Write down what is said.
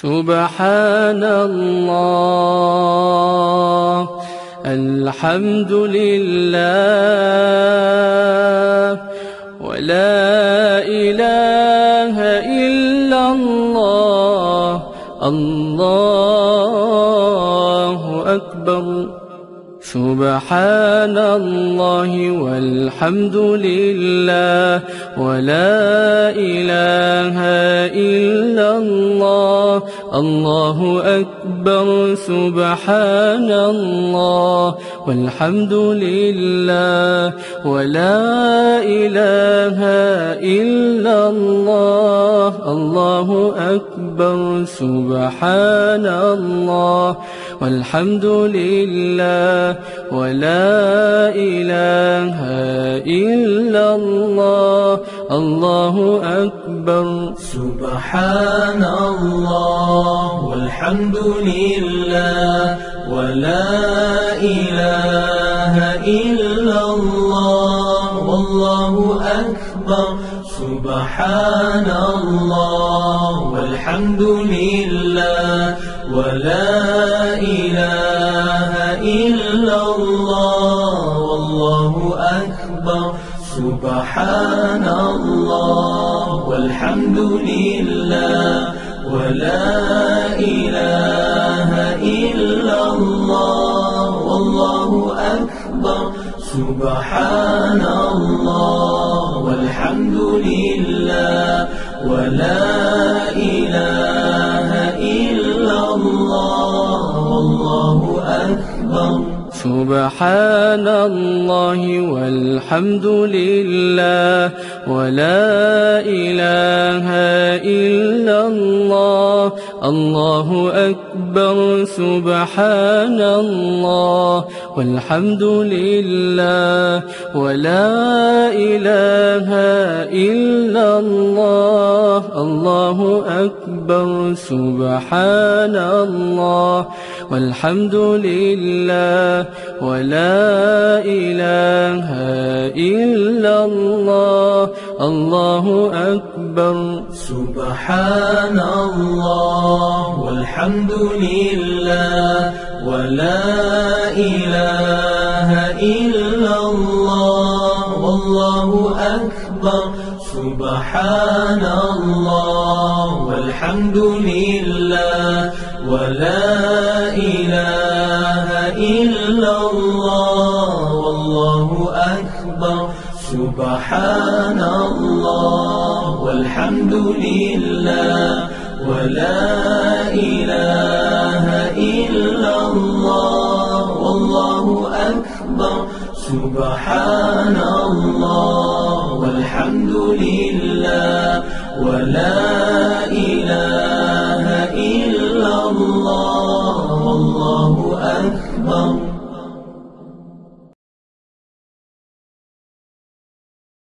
سبحان الله الحمد لله ولا إله إلا الله الله أكبر سبحان الله والحمد لله ولا إله إلا الله الله أكبر سبحان الله والحمد لله ولا إله إلا الله الله أكبر سبحان الله والحمد لله ولا إله إلا الله الله أكبر سبحان الله والحمد لله ولا إله إلا الله والله أكبر سبحان الله والحمد لله ولا إله إلا الله والله أكبر سبحان الله والحمد لله ولا إله إلا الله والله أكبر سبحان الله والحمد لله ولا إله إلا الله والله أكبر سبحان الله والحمد لله ولا إله إلا الله الله أكبر سبحان الله والحمد لله ولا إله إلا الله الله أكبر سبحان الله والحمد لله ولا إله إلا الله الله أكبر سبحان الله والحمد لله ولا إله إلا الله والله أكبر سبحان الله والحمد لله ولا إله إلا الله والله أكبر سبحان الله والحمد لله ولا إله إلا الله والله أكبر سبحان الله والحمد لله ولا إله إلا الله والله أكبر.